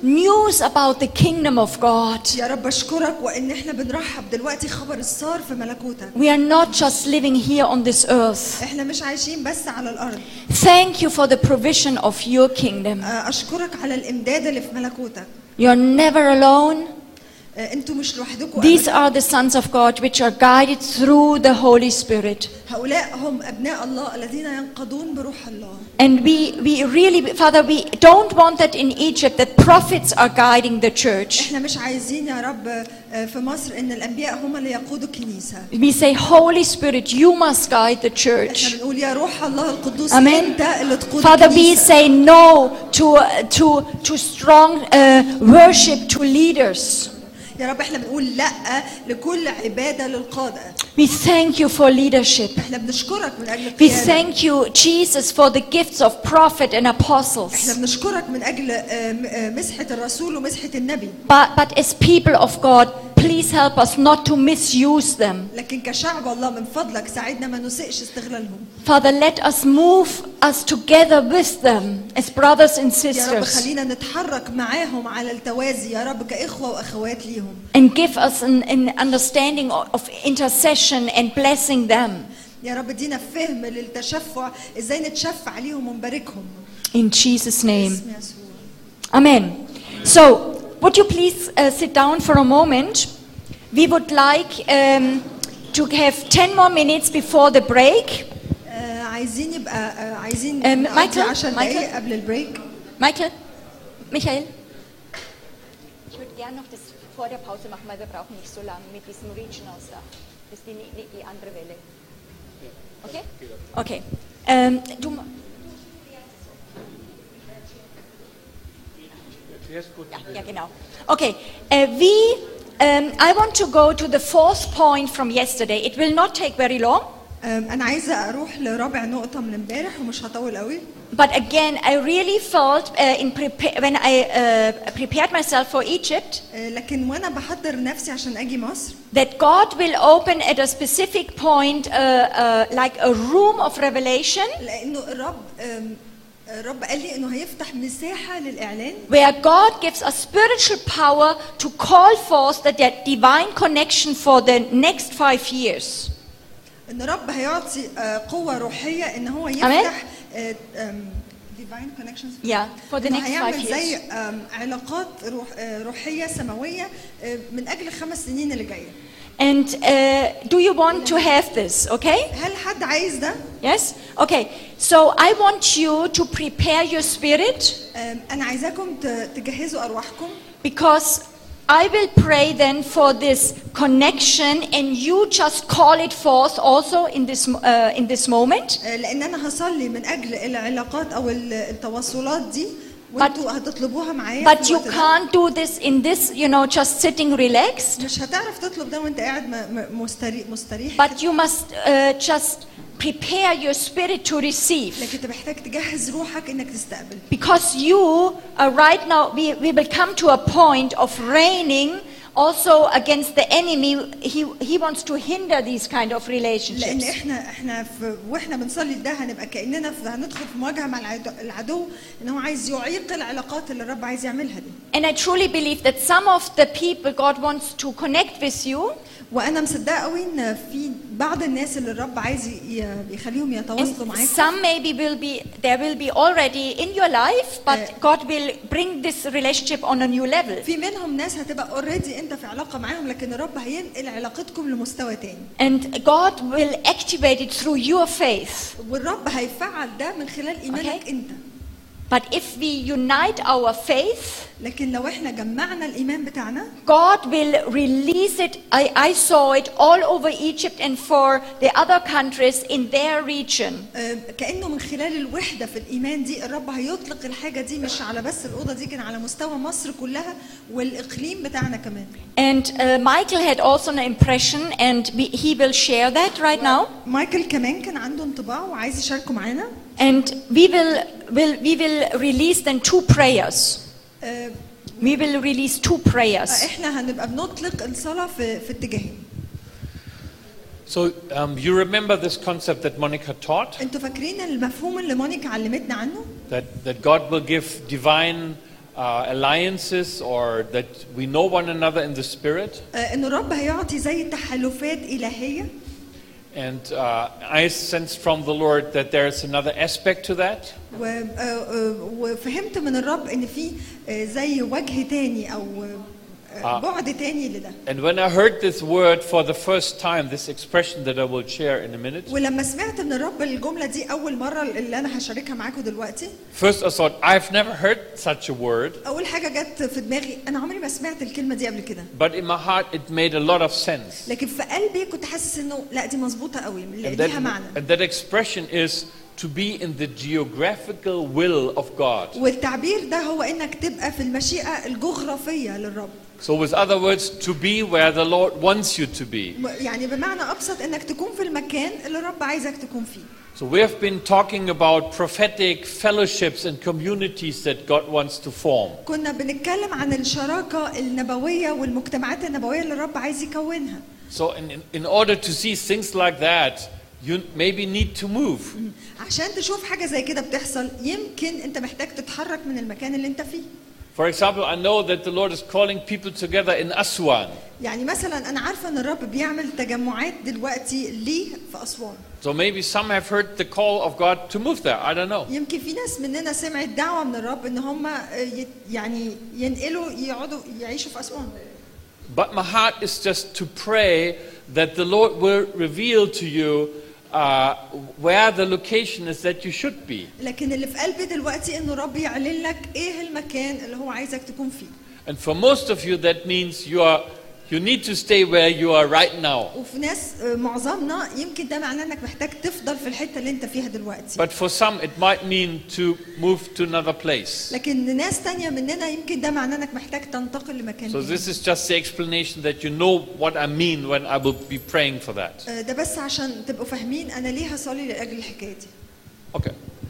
news about the kingdom of God. يا رب أشكرك وإن إحنا بنرحب دلوقتي خبر الصار في ملكوتك. We are not just living here on this earth. إحنا مش عايشين بس على الأرض. Thank you for the provision of your kingdom. أشكرك على الإمداد اللي في ملكوتك. You're never alone. أنتم مش لوحدكم. These are the sons of God which are guided through the Holy Spirit. هؤلاء هم أبناء الله الذين ينقضون بروح الله. And we really, Father, we don't want that in Egypt, that prophets are guiding the church. إحنا مش عايزين يا رب في مصر إن الأنبياء هم اللي يقودوا الكنيسة. We say, Holy Spirit, you must guide the church. إحنا بنقول يا روح الله القدوس Amen. أنت اللي تقود Father, we الكنيسة. say no to strong worship to leaders. يا رب إحنا بنقول لأ لكل عبادة للقادة. We thank you for leadership. إحنا بنشكرك من أجل We القيادة. thank you, Jesus, for the gifts of prophet and إحنا apostles. بنشكرك من أجل مسحة الرسول ومسحة النبي. But as people of God, please help us not to misuse them. لكن كشعب الله من فضلك ساعدنا ما نسئش استغلالهم. Father, let us move us together with them as brothers and يا رب sisters, خلينا نتحرك معاهم على التوازي يا رب كإخوة وأخوات ليهم. and give us an understanding of intercession and blessing them. يا رب دينا فهم للتشفع ازاي نتشفع عليهم ونباركهم. In Jesus' name. باسم يسوع. Amen. So, would you please sit down for a moment? We would like to have 10 more minutes before the break. عايزين يبقى عايزين نقضي 10 دقايق قبل البريك. Michael? Michael? Ich würde gerne noch das vor der Pause machen, weil wir brauchen nicht so lange mit diesem Regional Stuff. Das ist die andere Welle. Okay? Okay. Du... Ja, genau. Okay. I want to go to the fourth point from yesterday. It will not take very long. أنا عايزة أروح لرابع نقطة من امبارح ومش هطول قوي. But again, I really felt when I prepared myself for Egypt لكن وأنا بحضر نفسي عشان أجي مصر that God will open at a specific point like a room of revelation لأنه الرب قال لي إنه هيفتح مساحة للإعلان where God gives us spiritual power to call forth that divine connection for the next 5 years. إن الرب هيعطي قوة روحية إن هو يفتح divine connections. Yeah, for the next 5 هيعمل years. زي علاقات روحية سماوية من أجل 5 سنين اللي جاية. And do you want to have this? Okay? هل حد عايز ده؟ Yes? Okay. So I want you to prepare your spirit أنا عايزاكم تجهزوا أرواحكم. because I will pray then for this connection and you just call it forth also in this moment. لأن أنا هصلي من أجل العلاقات أو التواصلات دي وأنتوا هتطلبوها معايا. But you can't do this in this, just sitting relaxed. مش هتعرف تطلب ده وأنت قاعد مستريح. But you must just prepare your spirit to receive. لكن أنت محتاج تجهز روحك إنك تستقبل. Because you are right now, we will come to a point of reigning also against the enemy. He wants to hinder these kind of relationships. لأن إحنا وإحنا بنصلي ده هنبقى كأننا هندخل في مواجهة مع العدو إن هو عايز يعيق العلاقات اللي الرب عايز يعملها دي. And I truly believe that some of the people God wants to connect with you. وأنا مصدقة قوي إن في بعض الناس اللي الرب عايز يخليهم يتواصلوا معاك. Some maybe there will be already in your life, but God will bring this relationship on a new level. في منهم ناس هتبقى already أنت في علاقة معاهم لكن الرب هينقل علاقتكم لمستوى تاني. And God will activate it through your faith. والرب هيفعل ده من خلال إيمانك أنت. But if we unite our faith, لكن لو احنا جمعنا الإيمان بتاعنا God will release it. I saw it all over Egypt and for the other countries in their region. كأنه من خلال الوحدة في الإيمان دي الرب هيطلق الحاجة دي مش على بس الأوضة دي كان على مستوى مصر كلها والإقليم بتاعنا كمان. And Michael had also an impression and he will share that right now. مايكل كمان كان عنده انطباع وعايز يشاركه معانا. And we will release then 2 prayers. We will release 2 prayers. احنا هنبقى بنطلق الصلاة في اتجاهين. So you remember this concept that Monica taught? انتوا فاكرين المفهوم اللي مونيكا علمتنا عنه؟ That God will give divine alliances or that we know one another in the Spirit. إن الرب هيعطي زي تحالفات إلهية. And I sensed from the Lord that there is another aspect to that. وفهمت من الرب إن في زي وجه تاني أو بعد تاني لده. And when I heard this word for the first time, this expression that I will share in a minute, ولما سمعت من الرب الجملة دي أول مرة اللي أنا هشاركها معاكم دلوقتي. first I thought, I've never heard such a word. أول حاجة جت في دماغي أنا عمري ما سمعت الكلمة دي قبل كده. But in my heart, it made a lot of sense. لكن في قلبي كنت حاسس إنه لا دي مظبوطة قوي ليها معنى. And that expression is to be in the geographical will of God. والتعبير ده هو إنك تبقى في المشيئة الجغرافية للرب. So with other words, to be where the Lord wants you to be. يعني بمعنى أبسط إنك تكون في المكان اللي الرب عايزك تكون فيه. So we have been talking about prophetic fellowships and communities that God wants to form. كنا بنتكلم عن الشراكة النبوية والمجتمعات النبوية اللي الرب عايز يكونها. So in order to see things like that, you maybe need to move. عشان تشوف حاجة زي كده بتحصل يمكن أنت محتاج تتحرك من المكان اللي أنت فيه. For example, I know that the Lord is calling people together in Aswan. يعني مثلا أنا عارفة إن الرب بيعمل تجمعات دلوقتي ليه في أسوان. So maybe some have heard the call of God to move there. I don't know. يمكن في ناس مننا سمعت دعوة من الرب إن هم يعني ينقلوا يقعدوا يعيشوا في أسوان. But my heart is just to pray that the Lord will reveal to you where the location is that you should be. لكن اللي في قلبي دلوقتي إنه الرب يعلن لك إيه المكان اللي هو عايزك تكون فيه. And for most of you, that means you need to stay where you are right now. وفي ناس معظمنا يمكن ده معناه إنك محتاج تفضل في الحتة اللي أنت فيها دلوقتي. But for some, it might mean to move to another place. لكن ناس تانية مننا يمكن ده معناه إنك محتاج تنتقل لمكان So تاني. this is just the explanation that you know what I mean when I will be praying for that. ده بس عشان تبقوا فاهمين أنا ليه هصلي لأجل الحكاية دي. Okay.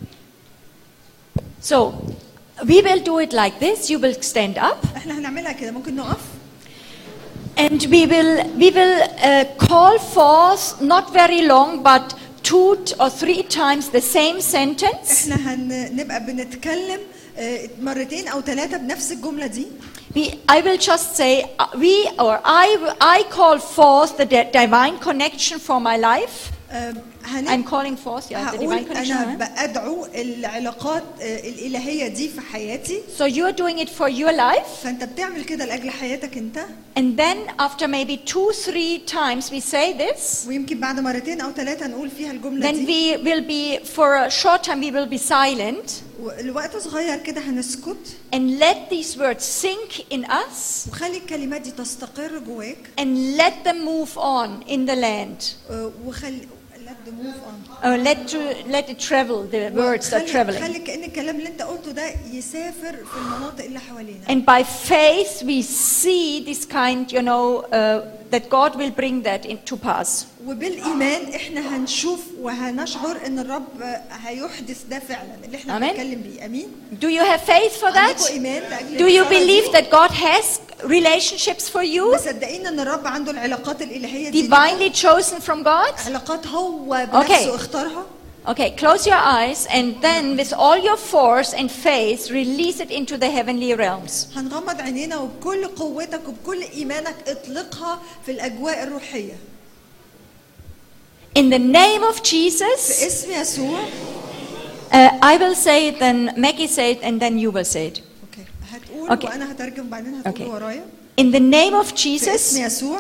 So, we will do it like this. You will stand up. إحنا هنعملها كده ممكن نقف. And we will call forth not very long, but 2 or 3 times the same sentence. إحنا هنبقى بنتكلم مرتين أو 3 بنفس الجملة دي. I will just say I call forth the divine connection for my life. I'm calling forth the divine connection. أنا بأدعو العلاقات الإلهية دي في حياتي. So you are doing it for your life. فأنت بتعمل كده لأجل حياتك أنت. And then after maybe 2-3 times we say this. ويمكن بعد مرتين أو 3 نقول فيها الجملة Then دي. we will be for a short time we will be silent. الوقت صغير كده هنسكت. And let these words sink in us. وخلي الكلمات دي تستقر جواك. And let them move on in the land. وخلي let them move on. Let it travel. The words are traveling. خلي كأن الكلام اللي أنت قلته ده يسافر في المناطق اللي حوالينا. And by faith we see this kind, that God will bring that into pass. وبالإيمان إحنا هنشوف وهنشعر إن الرب هيحدث ده فعلا اللي إحنا بنتكلم بيه. أمين. Do you have faith for that? Do you believe that God has relationships for you? مصدقين إن الرب عنده العلاقات الإلهية دي. Divinely chosen from God? علاقات هو بنفسه اختارها. Okay, close your eyes and then with all your force and faith release it into the heavenly realms. هنغمض عينينا وبكل قوتك وبكل إيمانك اطلقها في الأجواء الروحية. In the name of Jesus. في اسم يسوع. I will say it, then Maggie say it, and then you will say it. Okay. هتقول وأنا هترجم بعدين هتقول ورايا. In the name of Jesus. في اسم يسوع.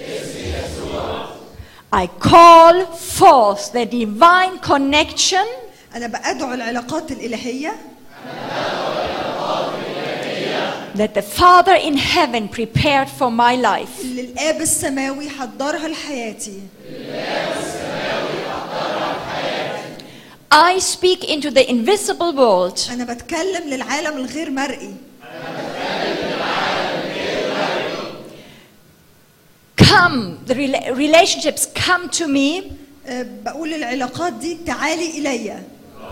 I call forth the divine connection. أنا بأدعو العلاقات الإلهية. That the Father in heaven prepared for my life. اللي الآب السماوي حضرها لحياتي. I speak into the invisible world. أنا بتكلم للعالم الغير مرئي. Come, the relationships come to me. بقول العلاقات دي تعالي إلي.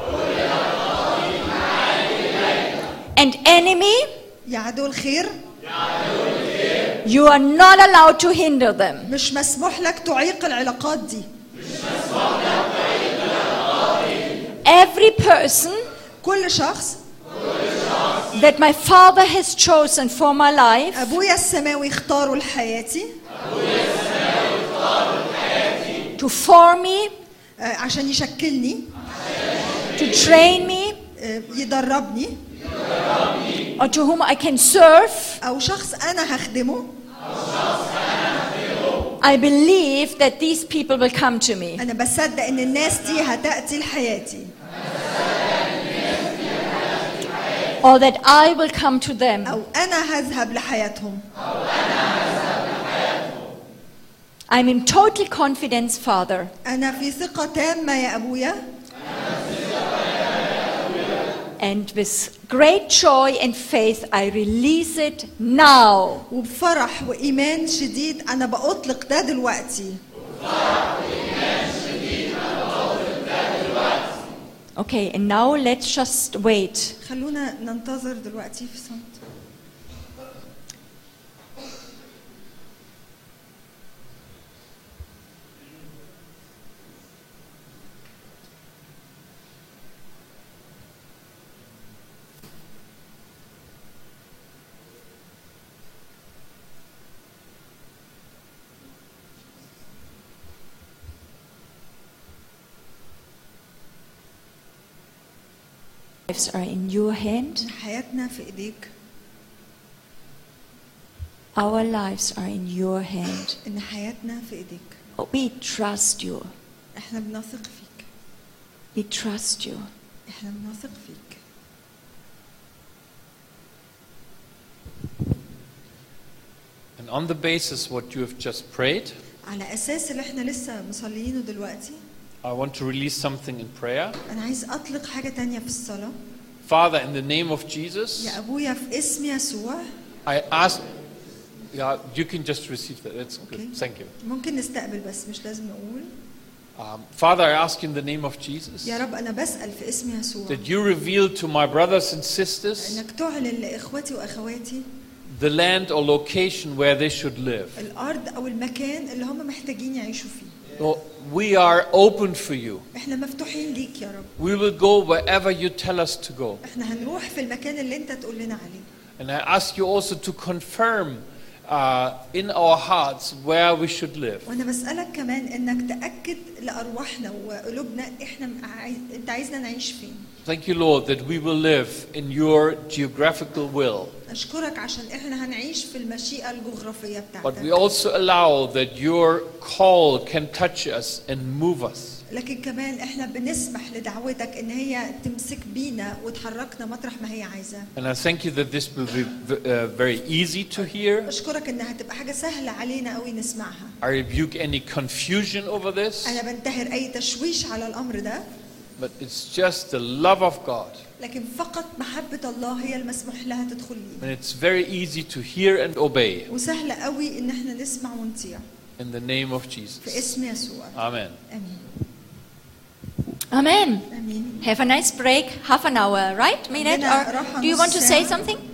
And enemy, يا عدو الخير. you are not allowed to hinder them. مش مسموح لك تعيق العلاقات دي. Every person كل شخص that my Father has chosen for my life ابويا السماوي اختاره لحياتي to form me, عشان يشكلني، to train me, يدربني، or to whom I can serve. او شخص انا هخدمه. I believe that these people will come to me. انا بصدق ان الناس دي هتأتي لحياتي، Or that I will come to them. او انا هذهب لحياتهم. I'm in total confidence, Father, انا في ثقة تامة يا ابويا، and with great joy and faith I release it now. وبفرح وإيمان شديد أنا بأطلق ده دلوقتي. Okay, and now let's just wait. خلونا ننتظر دلوقتي في صمت. Lives are in your hand. حياتنا في إيديك. Our lives are in your hand. إن حياتنا في إيديك. We trust you. إحنا بنثق فيك. We trust you. إحنا بنثق فيك. And on the basis what you have just prayed, على أساس اللي إحنا لسه مصليينه دلوقتي، I want to release something in prayer. أنا عايز أطلق حاجة تانية في الصلاة. Father, in the name of Jesus, يا أبويا في اسم يسوع. I ask, yeah, you can just receive that. That's good. Okay. Thank you. ممكن نستقبل بس مش لازم نقول. Father, I ask in the name of Jesus يا رب أنا بسأل في اسم يسوع. that you reveal to my brothers and sisters إنك تعلن لإخوتي وأخواتي the land or location where they should live. الأرض أو المكان اللي هم محتاجين يعيشوا فيه. Lord, we are open for you. إحنا مفتوحين ليك يا رب. We will go wherever you tell us to go. إحنا هنروح في المكان اللي أنت تقول لنا عليه. And I ask you also to confirm in our hearts where we should live. وأنا بسألك كمان إنك تأكد لأرواحنا وقلوبنا أنت عايزنا نعيش فين. Thank you, Lord, that we will live in your geographical will. أشكرك عشان إحنا هنعيش في المشيئة الجغرافية But we بتاعتك. also allow that your call can touch us and move us. لكن كمان إحنا بنسمح لدعوتك إن هي تمسك بينا وتحركنا مطرح ما هي عايزة. And I thank you that this will be very easy to hear. أشكرك إنها هتبقى حاجة سهلة علينا قوي نسمعها. I rebuke any confusion over this, أنا بنتهر أي تشويش على الأمر ده. but it's just the love of God. لكن فقط محبة الله هي المسموح لها تدخل And لينا. it's very easy to hear and obey. وسهلة قوي إن إحنا نسمع ونطيع. In the name of في Jesus. اسم يسوع. Amen. آمين. Amen. آمين. Have a nice break, half an hour, right? Minute? عندنا Or راحة do you نص want to say ساعة. something?